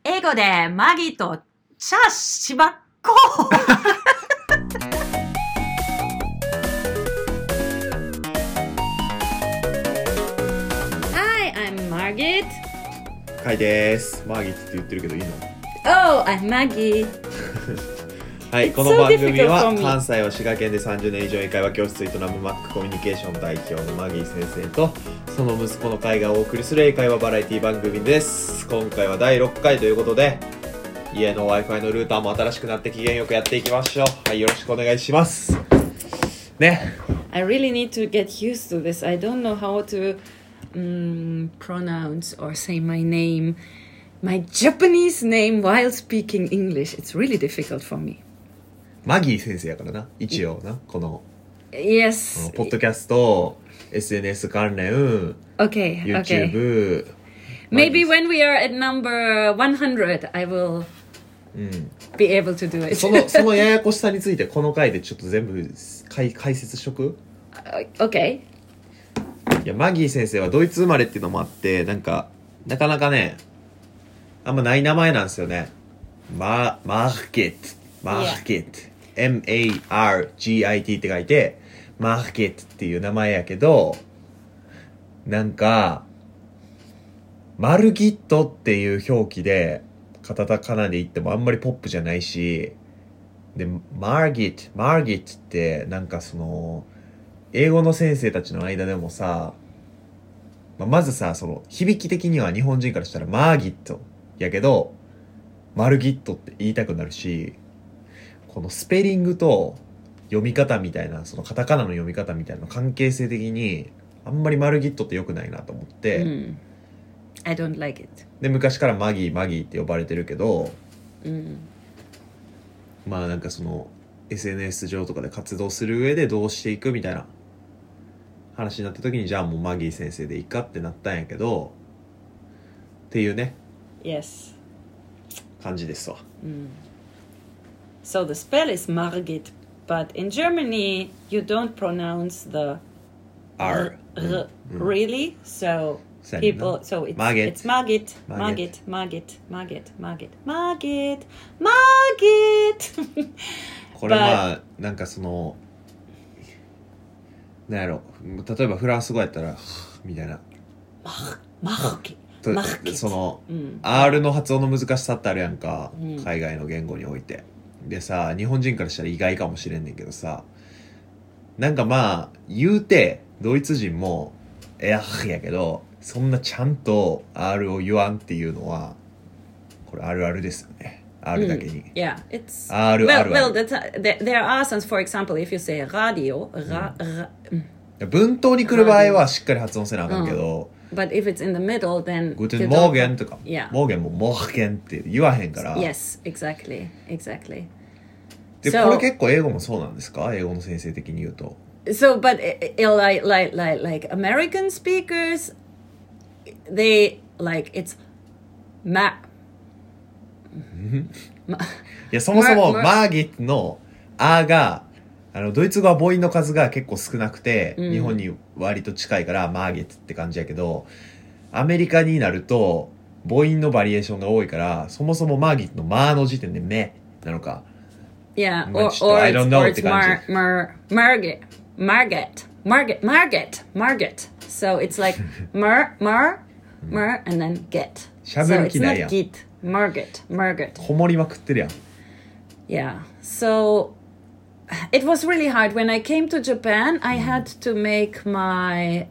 英語でマギとチャしばっこHi, I'm Margit. カイです。マーギッツって言ってるけどいいの？ Oh, I'm Maggie. はい、 It's この so 番組 difficult は for me. 関西を滋賀県で30年以上英会話教室を営むマックコミュニケーション代表のマギー先生とその息子のカイがお送りする英会話バラエティ番組です。今回は第6回ということで家の Wi-Fi のルーターも新しくなって機嫌よくやっていきましょう。はい、よろしくお願いしますね。 I really need to get used to this. I don't know how to pronounce or say my name, my Japanese name while speaking English. It's really difficult for me. マギー先生やからな、一応な、この Yes. ポッドキャスト SNS 関連 Okay. YouTube、 Maybe when we are at number 100, I will be able to do it. そのややこしさについてこの回でちょっと全部解説しとく。 Okay. いやマギー先生はドイツ生まれっていうのもあってなかなかねあんまない名前なんですよね。マーケット M-A-R-G-I-T って書いてマーケットっていう名前やけど、なんかマルギットっていう表記でカタカナで言ってもあんまりポップじゃないし、でマーギットってなんかその英語の先生たちの間でもさ、まずさその響き的には日本人からしたらマーギットやけどマルギットって言いたくなるし、このスペリングと読み方みたいなそのカタカナの読み方みたいな関係性的にあんまりマルギットって良くないなと思って、 I don't like it. で昔からマギーって呼ばれてるけど、まあなんかその SNS 上とかで活動する上でどうしていくみたいな話になった時にじゃあもうマギー先生でいいかってなったんやけどっていうね Yes. 感じですわ。 So the spell is Margit, but in Germany you don't pronounce the R really. So people, so it's Margit. これまあなんかそのなんやろ、例えばフランス語やったらみたいなその、R の発音の難しさってあるやんか、海外の言語において。でさ、日本人からしたら意外かもしれんねんけどさ、なんかまあ言うてドイツ人もやけどそんなちゃんと R を言わんっていうのはこれあるあるですよね。R だけに。 Yeah, it's R well, there are some, for example, if you say radio, 文頭に来る場合はしっかり発音せなあかんけど、 but if it's in the middle, then Guten Morgen とか、 Yeah. モーゲンもモーゲンって言わへんから。 Yes, exactly. で、これ結構英語もそうなんですか？英語の先生的に言うと。 So, but like American speakers, they like it's いやそもそもマーギットのあがドイツ語は母音の数が結構少なくて、日本に割と近いからマーギットって感じやけど、アメリカになると母音のバリエーションが多いから、そもそもマーギットのマーの時点でメなのか。 Yeah, or I don't know it's Margit. So it's like mer, and then get. しゃべる気ないやん。 So it's not git, Margit. こもりまくってるやん。 Yeah, so it was really hard. When I came to Japan, I had to make my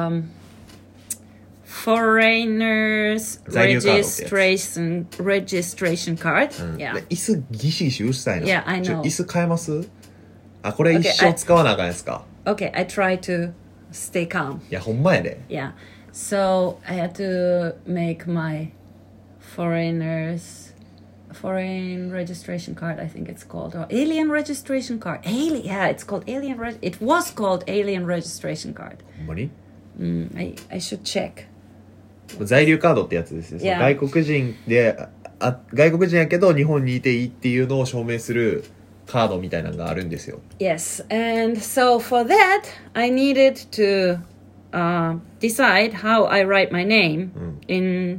foreigners registration card. Yeah. 椅子ギシギシうるさいな。 Yeah, I know. 椅子変えます？あ、これ一生使わなあかんやつか。 Okay, I try to stay calm. いや、ほんまやで。 Yeah. So I had to make my foreign registration card, I think it's called, or alien registration card. Yeah, it's called it was called alien registration card. ほんまに？ I should check. 在留カードってやつですね。 Yeah. 外国人で外国人やけど日本にいていいっていうのを証明するカードみたいなのがあるんですよ。 Yes, and so for that I needed to decide how I write my name in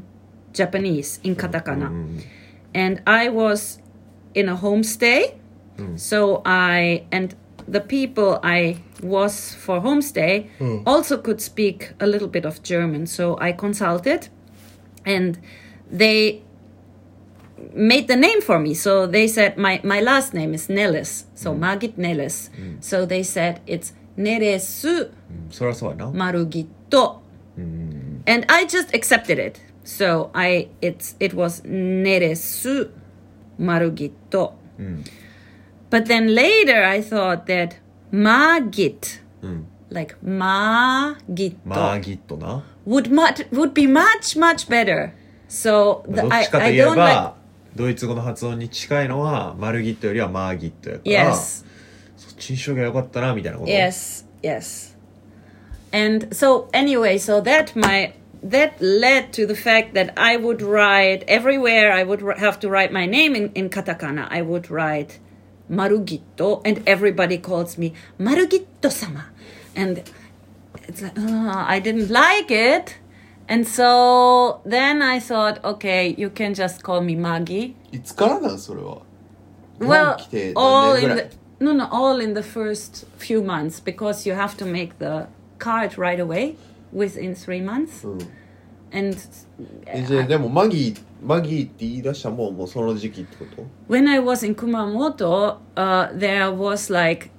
Japanese in katakana. うん And I was in a homestay. So and the people I was for homestay also could speak a little bit of German. So I consulted and they made the name for me. So they said my last name is Neles. So Margit Neles. So they said it's Neresu そりゃそうやな Marugito. And I just accepted it. So it was Neresu Marugito. But then later I thought that Margit, like Margito, マーギットな would be much, much better. So どっちかと I いえ don't ば like... ドイツ語の発音に近いのはマルギットよりはマーギットやから Yes. そっちにしとけばよかったなみたいなこと Yes, yes. And so anyway, so that led to the fact that I would write everywhere. I would have to write my name in katakana. I would write Marugito, and everybody calls me Marugito-sama. And it's like, I didn't like it. And so then I thought, okay, you can just call me Magi. いつからなんそれは Well, 日本来て all 何年 in ぐらい the all in the first few months, because you have to make the card right away within 3 months. And じゃあでもマギーって言い出したのももうその時期ってこと when I was in Kumamoto, there was like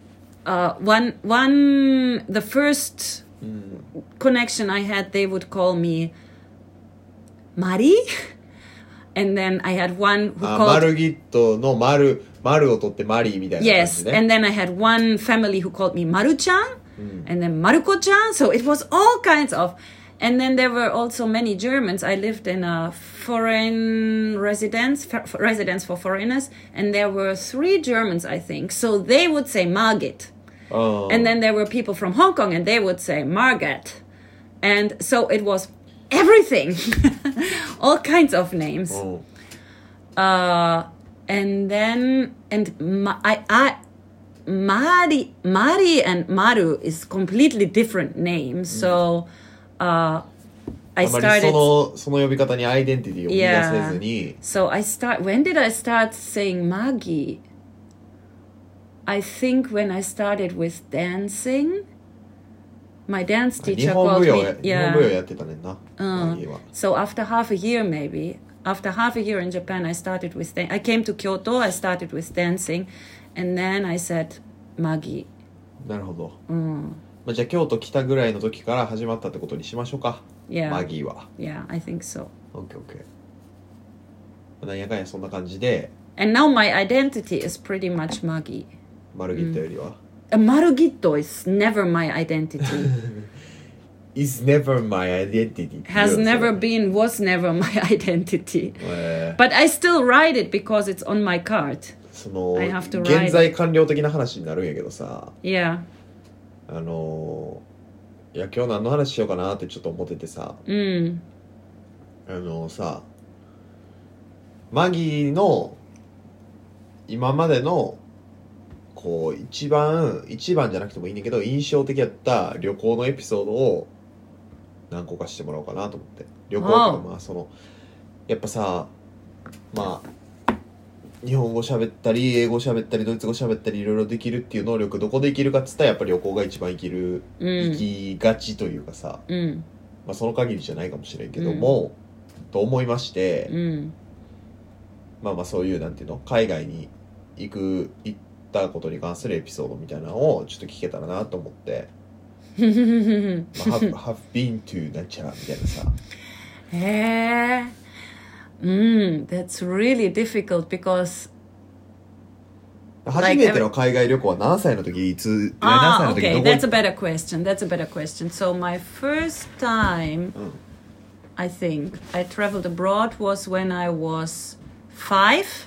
the first connection I had, they would call me Mari. And then I had one who あ called... マルギットの丸を取ってマリーみたいな感 Yes, じね and then I had one family who called me Maru-chan, and then Maruko-chan, so it was all kinds of... And then there were also many Germans. I lived in a foreign residence for foreigners, and there were 3 Germans, I think. So they would say Margit. あ And then there were people from Hong Kong, and they would say Margat. And so it was everything. All kinds of names. あ And then, Mari and Maru is completely different names. So, I あまり started... その呼び方にアイデンティティを見出せずに So when did I start saying Magi? I think when I started with dancing. My dance 日 teacher 本 called 舞踊 me... 日本舞踊やってたねんなマギーは So after half a year, maybe, after half a year in Japan, I started with... I came to Kyoto, I started with dancing, and then I said Magi. なるほど、まあ、じゃあ京都来たぐらいの時から始まったってことにしましょうか Yeah. マギーは Yeah, I think so. OKOK なんやかんやそんな感じで And now my identity is pretty much Magi. マルギットよりは、 Marugito is never my identity. Is never my identity was never my identity. But I still write it because it's on my card. その I have to write 現在完了的な話になるんやけどさ Yeah. いや今日何の話しようかなってちょっと思っててささマギーの今までのこう一番じゃなくてもいいんだけど印象的やった旅行のエピソードを何個かしてもらおうかなと思って旅行とかまあそのやっぱさまあ日本語喋ったり英語喋ったりドイツ語喋ったりいろいろできるっていう能力どこで生きるかっつったらやっぱり旅行が一番生きがちというかさ、まあその限りじゃないかもしれんけども、と思いまして、まあそういうなんていうの海外に行ったことに関するエピソードみたいなのをちょっと聞けたらなと思って、まあ、have been to なんちゃらみたいなさ。 That's really difficult because 初めての海外旅行は何歳の時何歳の時 okay, どこ that's a better question. So my first time, I think, I traveled abroad was when I was 5,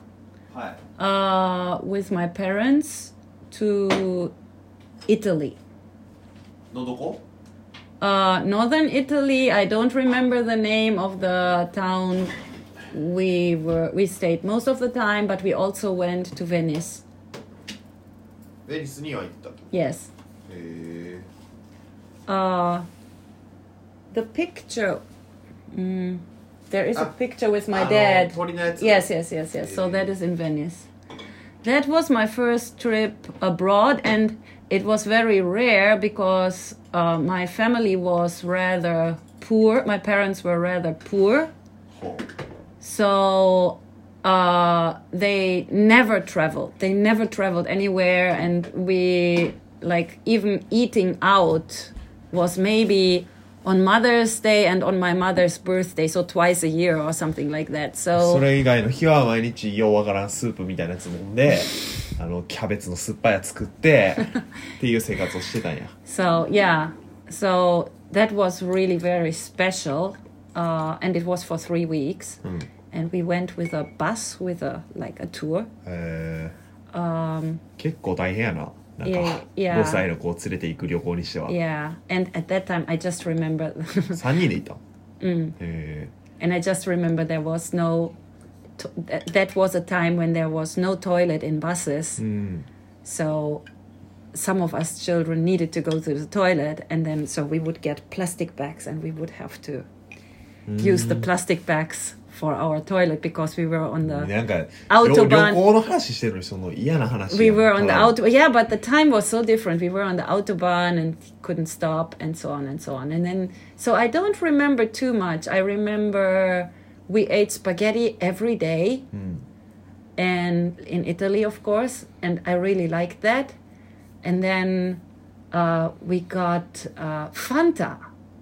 with my parents to Italy. のどこ Northern Italy. I don't remember the name of the town we stayed most of the time, but we also went to Venice. ベニスには行った Yes. へ The picture. There is a Ah, picture with my dad. 鳥のやつ Yes. So that is in Venice. That was my first trip abroad, and it was very rare because my family was rather poor. My parents were rather poor, ほう so they never traveled. They never traveled anywhere, and we like even eating out was maybe on Mother's Day and on my mother's birthday, so twice a year or something like that. そ So れ以外の日は毎日ようわからんスープみたいなやつ飲んでキャベツの酸っぱいやつ作ってっていう生活をしてたんや So yeah, so that was really very special, and it was for 3 weeks, and we went with a bus with a like a tour. 結構大変やななんか Yeah. 5歳の子を連れて行く旅行にしては Yeah, and at that time I just remember, 3人で行ったん and I just remember there was no. That was a time when there was no toilet in buses, so some of us children needed to go to the toilet, and then so we would get plastic bags, and we would have to use the plastic bags for our toilet because we were on the なんか Autobahn 旅行の話してるのにその嫌な話 we やん were on the ただ auto yeah, but the time was so different. We were on the autobahn and couldn't stop, and so on and so on. And then so I don't remember too much. I remember we ate spaghetti every day, and in Italy, of course, and I really liked that. And then we got Fanta,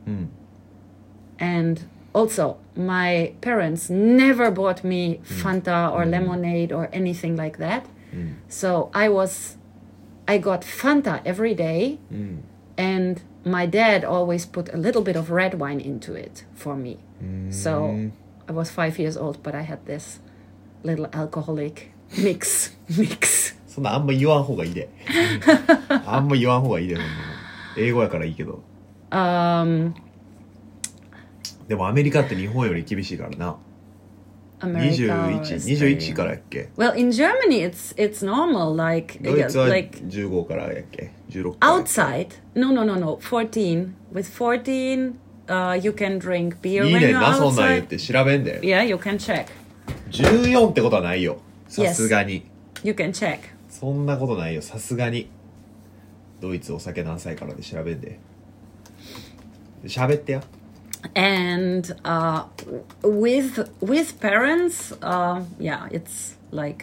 and also my parents never bought me Fanta or lemonade or anything like that. So I got Fanta every day, and my dad always put a little bit of red wine into it for me. So I was 5 years old, but I had this little alcoholic mix. そんなあんま言わん方がいいであんま言わん方がいいでほんま英語やからいいけど でもアメリカって日本より厳しいからな America was 21からやっけ Well, in Germany, it's normal. Like ドイツは like 15からやっけ16からやっけ outside. No. 14. With 14, you can drink beer いい when ねん you're なそんなん言っ outside. て調べんで Yeah, you can check. 14ってことはないよさすがに You can check. そんなことないよさすがにドイツお酒何歳からで調べんで喋ってや And with parents, yeah, it's like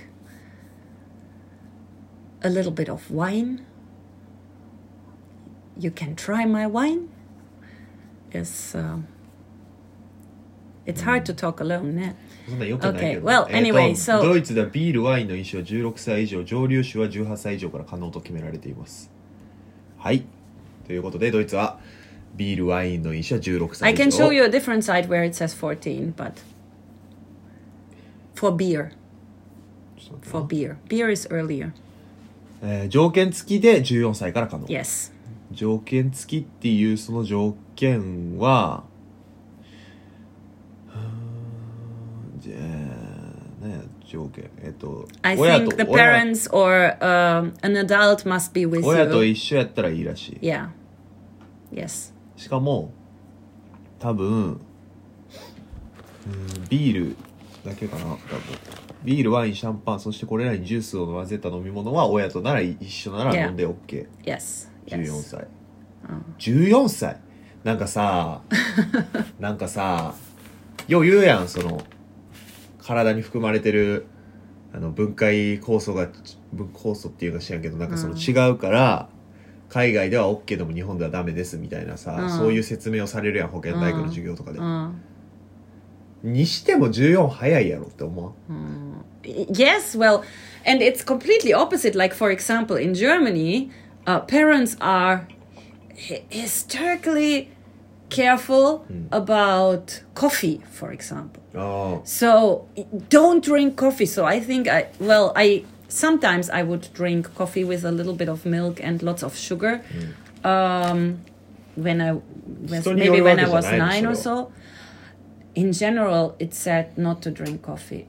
a little bit of wine. You can try my wine. It's hard to talk alone, ね。 そんなよくないけど Okay, well, anyway, so- ドイツではビールワインの飲酒は16歳以上蒸留酒は18歳以上から可能と決められていますはいということでドイツはビールワインの飲酒は16歳 I 以上 can show you a different site where it says 14, but for beer. For beer. Beer is earlier. 条件付きで14歳から可能 Yes. 条件付きっていうその条件はじゃあ何や条件 I 親 think と the parents or an adult must be with 親と you. 一緒やったらいいらしい Yeah. Yes. しかも多分ビールだけかな多分ビールワインシャンパンそしてこれらにジュースを混ぜた飲み物は親となら一緒なら Yeah. 飲んで OK、 Yes. 14歳、14歳なんかさよう言うやんその体に含まれてる分解酵素っていうの知らんけどなんかその違うから、海外では OK でも日本ではダメですみたいなさ、そういう説明をされるやん保健体育の授業とかで、にしても14早いやろって思う、 Yes, well, and it's completely opposite. Like, for example, in Germany, parents are hysterically careful about coffee, for example. あ So don't drink coffee. So I think sometimes I would drink coffee with a little bit of milk and lots of sugar. When I was 人による maybe わ when け I じゃ was ないの 9 or それは so. In general, it's said not to drink coffee.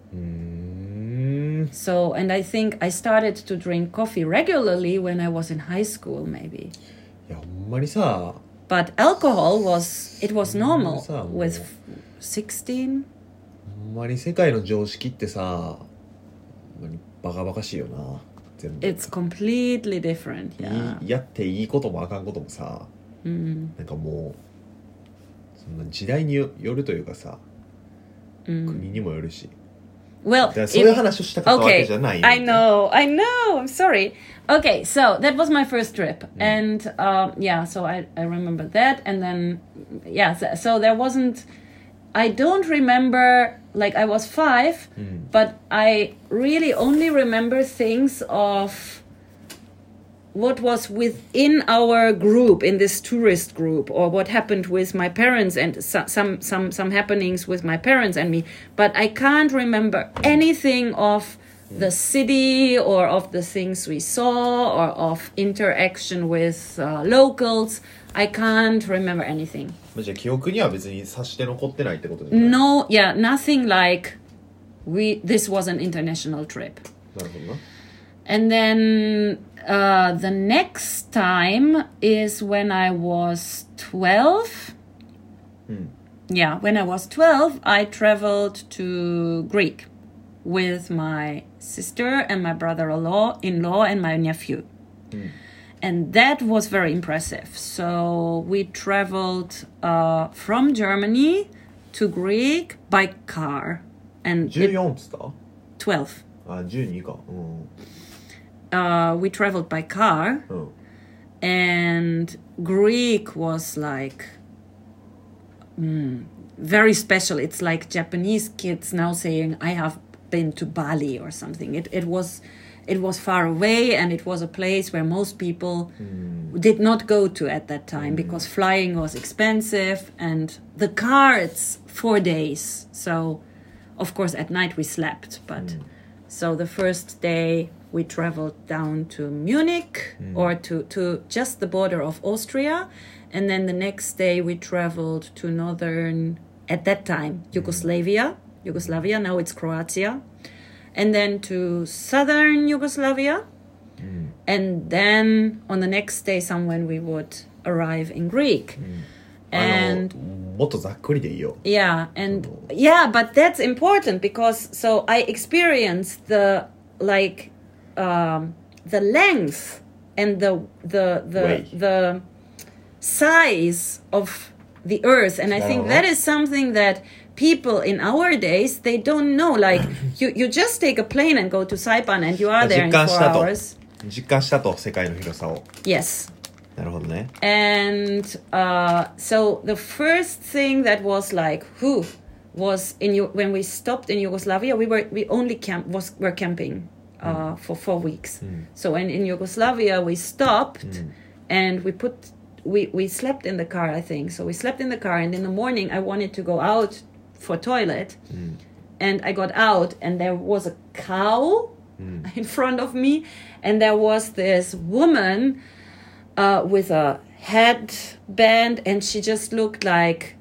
So, and I think I started to drink coffee regularly when I was in high school, maybe. いやほんまにさ But alcohol was normal Yes, with 16. ほんまに世界の常識ってさ、ほんまにバカバカしいよな全部。 It's completely different. Yeah. やっていいこともあかんこともさ、なんかもうそんな時代によるというかさ、国にもよるし。 Well, だからそういう話をしたかったわけじゃないよ。 I know. I'm sorry. Okay, so that was my first trip, and yeah, so I remember that, and then yeah, so there wasn't. I don't remember, like I was 5, but I really only remember things of what was within our group, in this tourist group, or what happened with my parents and some happenings with my parents and me. But I can't remember anything of the city or of the things we saw or of interaction with locals. I can't remember anything. じゃあ記憶には別にさして残ってないってことじゃない？ No, yeah, nothing like this was an international trip. なるほどな。 And then the next time is when I was 12. Yeah, when I was 12, I traveled to Greek with my sister and my brother-in-law and my nephew. And that was very impressive. So we traveled from Germany to Greek by car. And 14っつった？ 12. あ、12か。 We traveled by car, and Greek was like very special. It's like Japanese kids now saying, "I have been to Bali" or something. It was far away, and it was a place where most people did not go to at that time because flying was expensive, and the car, it's 4 days. So, of course, at night we slept, but so the first day we traveled down to Munich or to just the border of Austria. And then the next day we traveled to northern, at that time, Yugoslavia. Now it's Croatia. And then to southern Yugoslavia. And then on the next day, somewhere we would arrive in Greek. And もっとざっくりでいいよ。 yeah, and yeah, but that's important because so I experienced the like the length and the size of the earth, and I think that is something that people in our days, they don't know. Like you just take a plane and go to Saipan and you are there in 4 hours. 実感したと、世界の広さを。 Yes. なるほどね。 And so the first thing that was like, was when we stopped in Yugoslavia, we only were camping for 4 weeks. So when in Yugoslavia we stopped and we slept in the car, I think. So we slept in the car, and in the morning I wanted to go out for toilet, and I got out, and there was a cow in front of me, and there was this woman with a headband, and she just looked like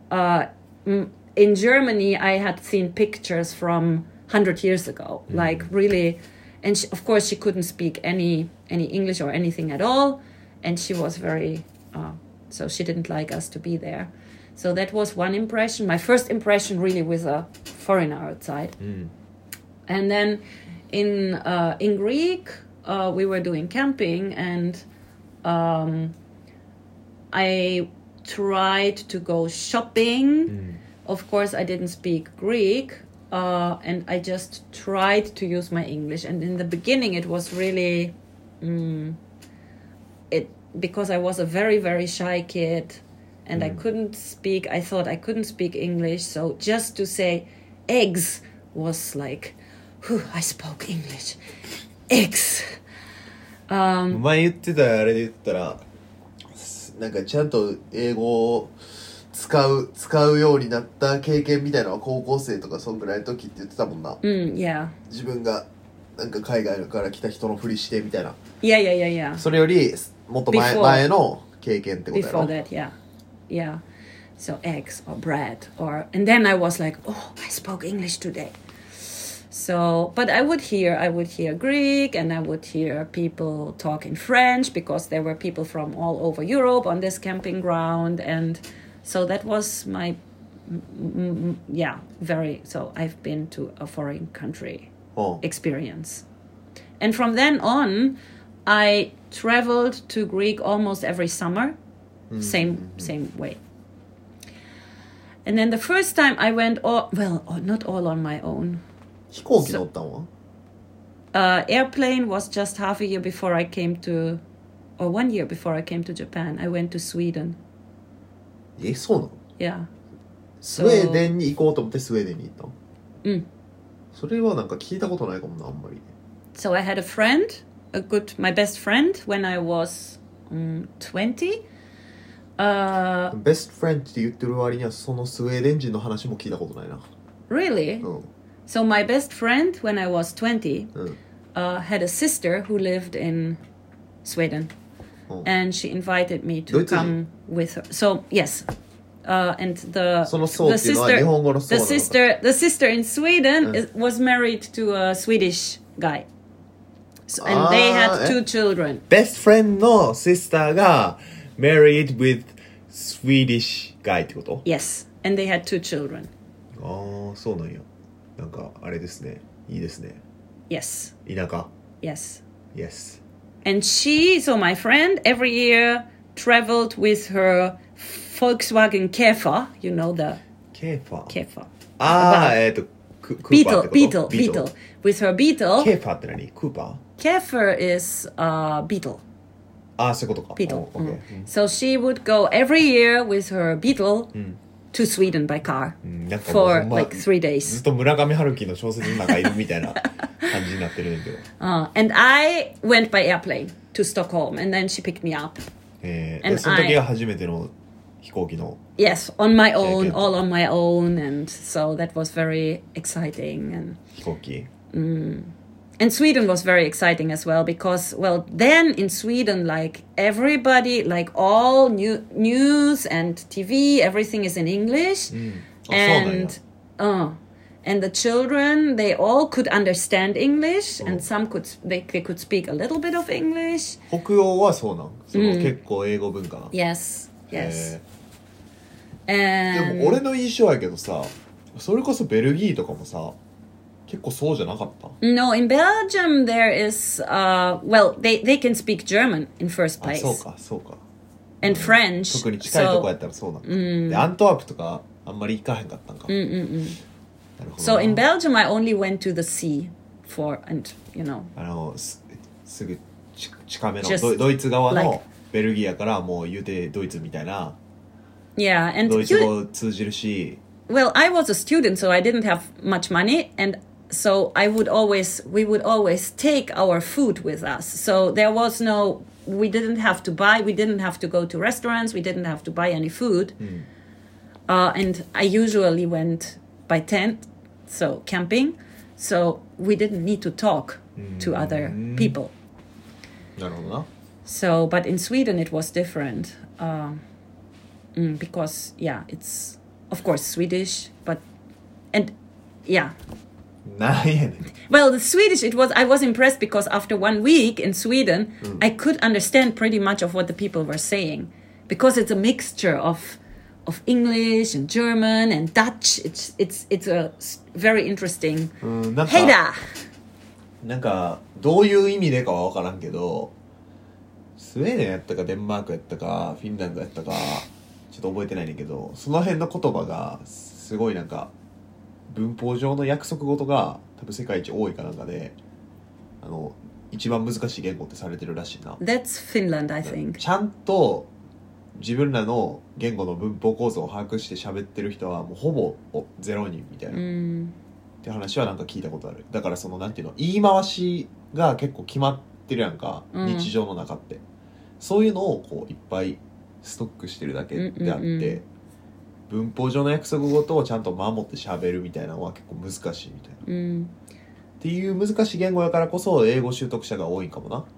in Germany I had seen pictures from 100 years ago, like really, and of course she couldn't speak any English or anything at all, and she was very so she didn't like us to be there. So that was one impression, my first impression really with a foreigner outside. And then in Greek we were doing camping, and I tried to go shopping. Of course, I didn't speak Greek, and I just tried to use my English. And in the beginning, it was really because I was a very, very shy kid, and I thought I couldn't speak English. So just to say eggs was like, I spoke English. Eggs. 前言ってたあれで言ったら、なんかちゃんと英語を使うようになった経験みたいなのは高校生とかそんぐらいの時って言ってたもんな。 Yeah. 自分がなんか海外から来た人のふりしてみたいな。 Yeah. それよりもっと前の経験ってことやろ。 Before that, yeah. So eggs or bread and then I was like, I spoke English today. So, but I would hear Greek, and I would hear people talk in French because there were people from all over Europe on this camping ground, and so that was my yeah, very. So I've been to a foreign country うん。 experience. And from then on, I traveled to Greek almost every summer, same way. And then the first time I went, not all on my own. 飛行機乗ったんは Airplane was just half a year before I came to, or 1 year before I came to Japan. I went to Sweden. そうなの Yeah. スウェーデンに行こうと思ってスウェーデンに行ったのうんそれはなんか聞いたことないかもな、あんまり。 So I had a friend, my best friend when I was 20. ベストフレンドって言ってる割にはそのスウェーデン人の話も聞いたことないな。 Really? うん。 So my best friend when I was 20 うん。 had a sister who lived in Sweden. うん And she invited me to ドイツ人 come with her. So, yes. And the その層っていうのは日本語の層なのか the sister in Sweden was married to a Swedish guy. So, and they had two children. ベストフレンドのシスターが married with Swedish guy ってこと Yes. And they had two children. ああ、そうなんや。なんかあれですね。いいですね。 Yes. 田舎 Yes. Yes. And she, so my friend, every year traveled with her Volkswagen Käfer. You know the ケーファー Käfer. ああ、クーパーってこと Beetle. With her Beetle. ケーファーって何クーパー Käfer is Beetle. ああ、そういうことか。 Beetle. オッケー So she would go every year with her Beetle to Sweden by car なんかもう for ほんま like 3 ずっ days. と村上春樹の小説の中いるみたいな感じになってるんだけど。 And I went by airplane to Stockholm, and then she picked me up. で And その時が初めての飛行機の Yes, on my own, Okay. all on my own, and so that was very exciting. And 飛行機 Sweden was very exciting as well because, well, then in Sweden, like everybody, like all news and TV, everything is in English, あ、そうなんや and the children they all could understand English, and some they could speak a little bit of English. 北欧はそうなんその、結構英語文化な Yes, yes. で And も俺の印象やけどさそれこそベルギーとかもさ結構そうじゃなかった No, in Belgium there is well, they can speak German in first あ place そうかそうか and French. 特に近いとこやったらそうなんか、でアントワープとかあんまり行かへんかったんか、なるほど So な in Belgium I only went to the sea and you know すぐ近めの Just ドイツ側 like- のベルギーやからもう言うてドイツみたいな yeah, and ドイツ語通じるし well, I was a student, so I didn't have much money, and so we would always take our food with us. So there was we didn't have to go to restaurants, we didn't have to buy any food. And I usually went by tent, so camping, so we didn't need to talk to other people. なるほどな So, but in Sweden it was different, because yeah, it's of course Swedish, and yeah. なんやねん Well, the Swedish I was impressed because after 1 week in Sweden, I could understand pretty much of what the people were saying, because it's a mixture of English and German and Dutch. It's a very interesting. なんか Hey da! なんかどういう意味でかは分からんけどスウェーデンやったかデンマークやったかフィンランドやったかちょっと覚えてないねんけどその辺の言葉がすごいなんか文法上の約束事が多分世界一多いかなんかで一番難しい言語ってされてるらしいな That's Finland, I think. ちゃんと自分らの言語の文法構造を把握して喋ってる人はもうほぼ0人みたいな、って話はなんか聞いたことあるだからそのなんていうの言い回しが結構決まってるやんか、日常の中ってそういうのをこういっぱいストックしてるだけであって、文法上の約束事をちゃんと守って喋るみたいなのは結構難しいみたいな、っていう難しい言語やからこそ英語習得者が多いんかもな、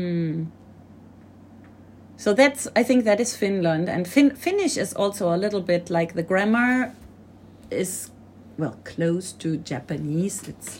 So I think that is Finland, and Finnish is also a little bit like the grammar is, well, close to Japanese.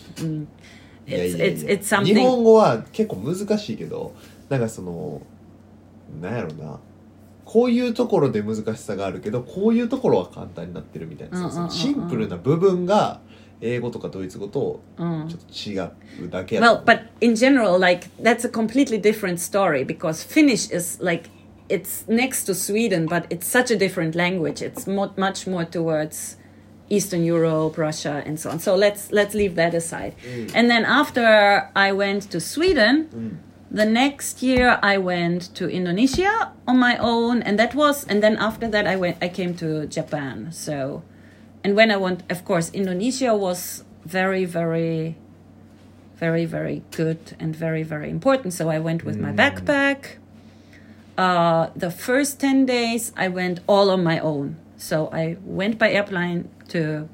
It's 日 something. 本語は結構難しいけどなんかそのなんやろなこういうところで難しさがあるけどこういうところは簡単になってるみたいな、そのシンプルな部分が英語とかドイツ語とちょっと違うだけやと Well, but in general, like that's a completely different story because Finnish is like it's next to Sweden, but it's such a different language. It's much more towards Eastern Europe, Russia, and so on. So let's leave that aside. And then after I went to Sweden, the next year I went to Indonesia on my own, and then after that I came to Japan. So, and when I went, of course, Indonesia was very, very, very, very good and very, very important. So I went with my backpack. The first 10 days I went all on my own. So I went by airplane to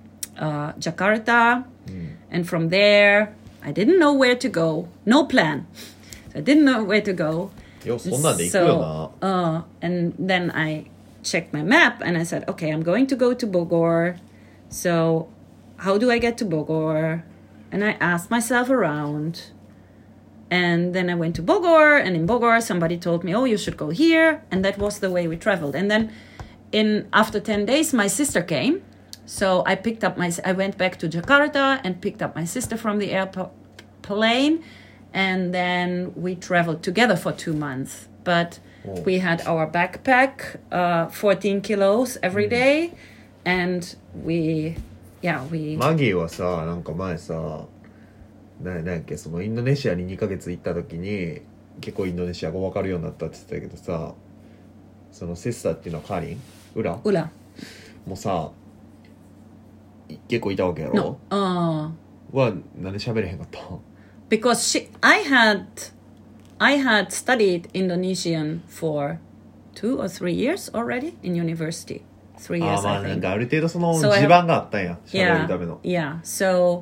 Jakarta, and from there I didn't know where to go. No plan. So I didn't know where to go. よそんなんで行くよな。 And then I checked my map and I said, okay, I'm going to go to Bogor. So how do I get to Bogor? And I asked myself around. And then I went to Bogor, and in Bogor somebody told me, oh, you should go here. And that was the way we traveled. And then after 10 days, my sister came. So I went back to Jakarta and picked up my sister from the airplane. And then we traveled together for 2 months. But we had our backpack, 14 kilos every day. And we... マギーはさ、なんか前さ、なんやっけ、そのインドネシアに2ヶ月行った時に結構インドネシア語分かるようになったって言ってたけどさ、そのセスターっていうのはカーリンウラもうさ結構いたわけやろ。はなんで喋れへんかった？ Because I had studied Indonesian for 2 or 3 years already in university. 3 years, まあ I なん think. かある程度その地盤があったんや、喋るための。 Yeah. So,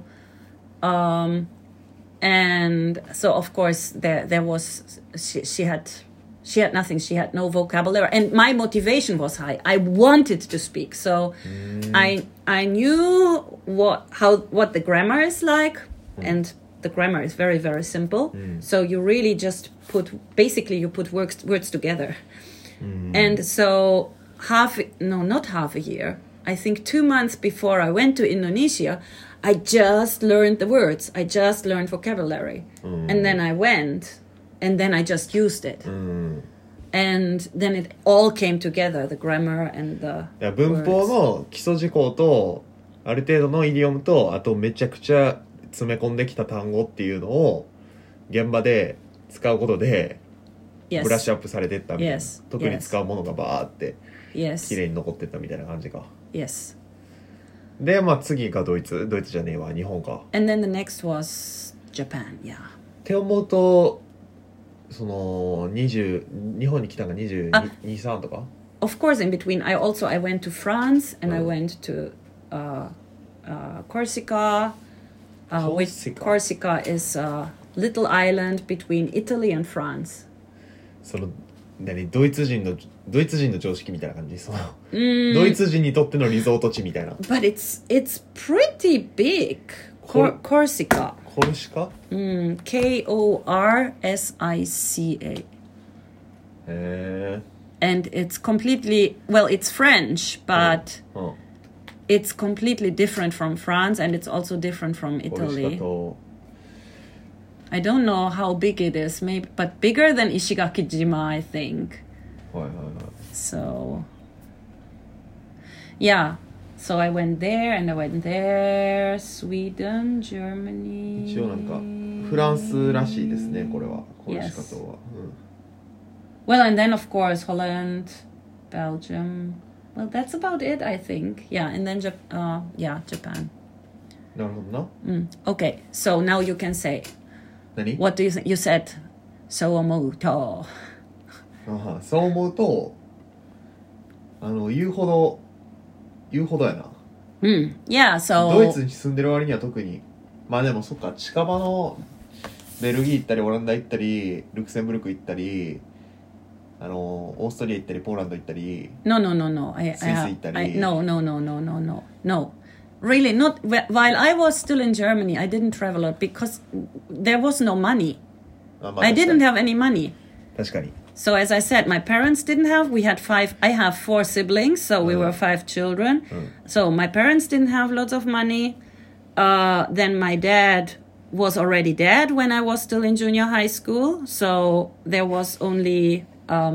and so of course there was she had nothing. She had no vocabulary, and my motivation was high. I wanted to speak, so I knew what the grammar is like, and the grammar is very, very simple. So you really just put words together, and so not half a year. I think 2 months before I went to Indonesia, I just learned the words. I just learned vocabulary. And then I went, and then I just used it. And then it all came together, the grammar and the words. 文法の基礎事項と、ある程度のイディオムと、あとめちゃくちゃ詰め込んできた単語っていうのを、現場で使うことで、ブラッシュアップされてったみたいな。特に使うものがバーって、綺麗に残ってったみたいな感じか。 Yes. で、まあ次がドイツじゃねえわ、日本か。 And then the next was Japan, yeah. って思うと、その日本に来たのが22、3とか Of course, in between, I went to France and I went to Corsica. Corsica is a little island between Italy and France. そのドイツ人の常識みたいな感じ、そのドイツ人にとってのリゾート地みたいな。 But it's pretty big. Corsica. コルシカ Korsica. へー。 And it's completely, well, it's French, but it's completely different from France, and it's also different from Italy. I don't know how big it is, maybe, but bigger than Ishigaki-jima, I think. So, yeah. So I went there, and I went there, Sweden, Germany. 一応なんかフランスらしいですね、これは。コルシカ島は。 Well, and then of course Holland, Belgium. Well, that's about it, I think. Yeah, and then Japan. なるほどな。 Okay, so now you can say. 何? What do you think? You said, そう思うと。 そう思うと、言うほどやな。 Yeah, so. ドイツに住んでる割には特に。まあでもそっか、近場のベルギー行ったり、オランダ行ったり、ルクセンブルク行ったり、オーストリア行ったり、ポーランド行ったり。 No. スイス行ったり。 No. Really, not. While I was still in Germany, I didn't travel a lot because there was no money. I didn't have any money. 確かに。 So as I said, my parents didn't have, I have 4 siblings, so we were 5 children. So my parents didn't have lots of money. Then my dad was already dead when I was still in junior high school. So there was only,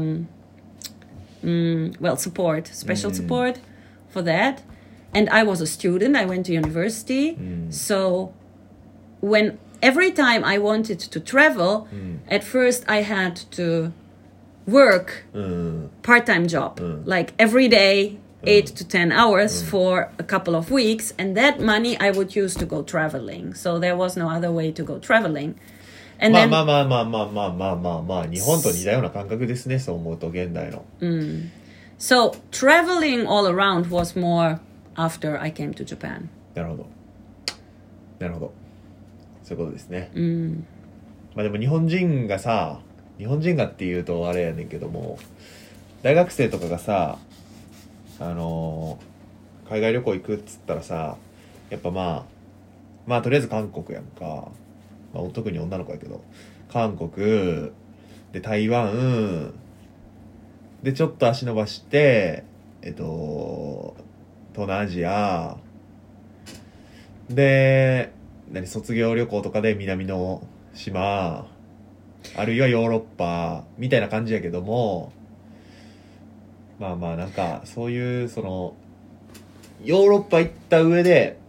support, special support for that. And I was a student. I went to university. So every time I wanted to travel, at first I had to work part-time job, like every day, 8 to 10 hours for a couple of weeks, and that money I would use to go traveling. So there was no other way to go traveling. And まあ then, まあまあまあまあまあまあまあまあ日本と似たような感覚ですね、そう思うと現代の。 so traveling all around was more after I came to Japan. なるほど。なるほど。そういうことですね。まあでも日本人がっていうとあれやねんけども、大学生とかがさ、海外旅行行くっつったらさ、やっぱまあとりあえず韓国やんか。まあ特に女の子やけど、韓国で台湾でちょっと足伸ばして、東南アジアで卒業旅行とかで南の島、あるいはヨーロッパみたいな感じやけども、まあまあなんかそういうそのヨーロッパ行った上で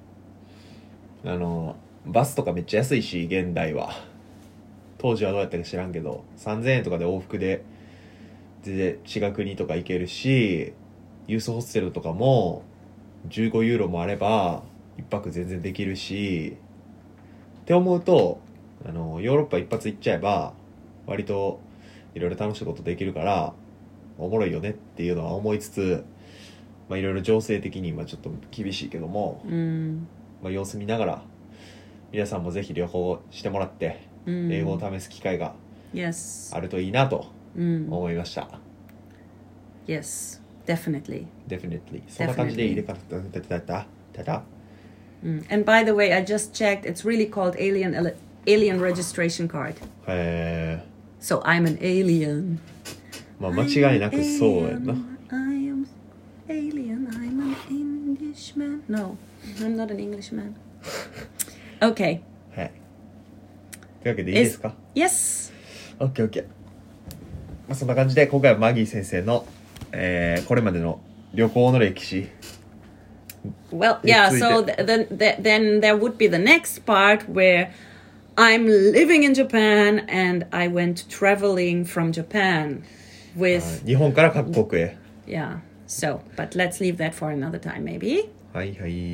バスとかめっちゃ安いし、現代は当時はどうやったか知らんけど3000円とかで往復で全然違う国とか行けるし、ユースホステルとかも15ユーロもあれば一泊全然できるしって思うと、ヨーロッパ一発行っちゃえば割といろいろ楽しいことできるからおもろいよねっていうのは思いつつ、まあいろいろ情勢的に今ちょっと厳しいけども、まあ様子見ながら皆さんもぜひ旅行してもらって英語を試す機会があるといいなと思いました。 Yes, definitely. Definitely. そんな感じでいいでかた。 And by the way, I just checked. It's really called alien registration card. へ So I'm an alien. まあ間違いなくそうやんな。 I am alien. I'm an Englishman. No, I'm not an Englishman. Okay. はい。というわけでいいですか？ Yes. OK。まあそんな感じで今回はマギー先生の、これまでの旅行の歴史。 Well, yeah, so then there would be the next part where I'm living in Japan and I went traveling from Japan with... 日本から各国へ。 Yeah, so, but let's leave that for another time, maybe. はい。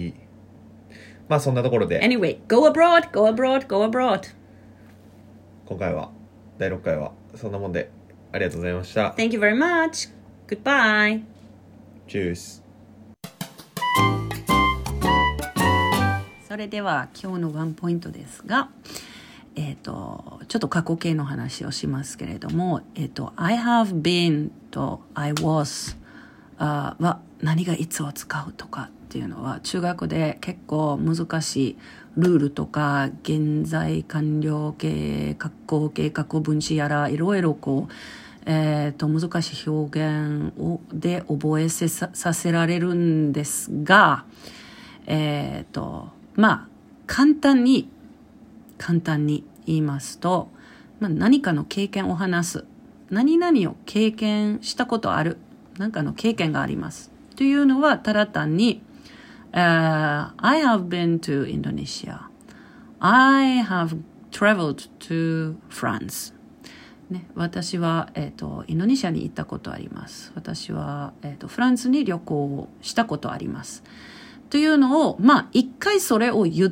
まあそんなところで。 Anyway, go abroad. 今回は、第6回はそんなもんでありがとうございました。 Thank you very much. Goodbye. Cheers. それでは今日のワンポイントですが、ちょっと過去形の話をしますけれども、I have been と I was は何がいつを使うとかっていうのは中学で結構難しいルールとか現在完了形、過去形、過去分詞やらいろいろこう難しい表現で覚えさせられるんですが、まあ簡単に言いますと、何かの経験を話す、何々を経験したことある、何かの経験がありますというのはただ単に、I have been to Indonesia. I have traveled to France.ね、私は、インドネシアに行ったことあります。私は、フランスに旅行したことあります。というのを、一回それを言って、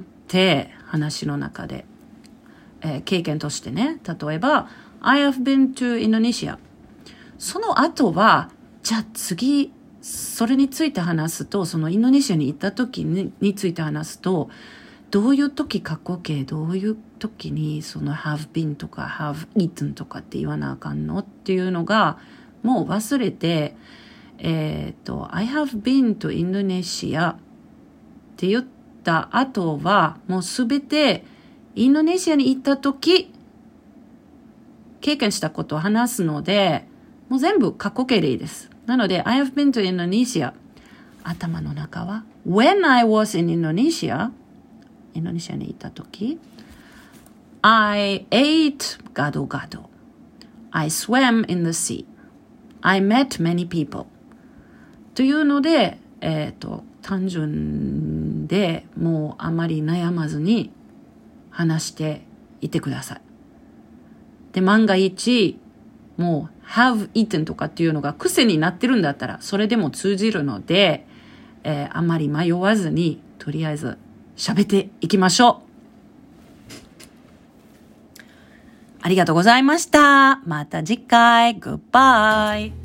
話の中で、経験としてね、例えば、I have been to Indonesia。その後は、じゃあ次、それについて話すと、そのインドネシアに行った時について話すと、どういう時過去形、どういう時にその have been とか have eaten とかって言わなあかんのっていうのがもう忘れて、I have been to Indonesia って言った後はもうすべてインドネシアに行った時経験したことを話すのでもう全部過去形でいいです。なので、I have been to Indonesia。頭の中は、When I was in Indonesia、インドネシアにいたとき、I ate gado gado。I swam in the sea。I met many people。というので、単純でもうあまり悩まずに話していてください。で、万が一、もう have eaten とかっていうのが癖になってるんだったら、それでも通じるので、あまり迷わずに、とりあえず喋っていきましょう。ありがとうございました。また次回。Goodbye.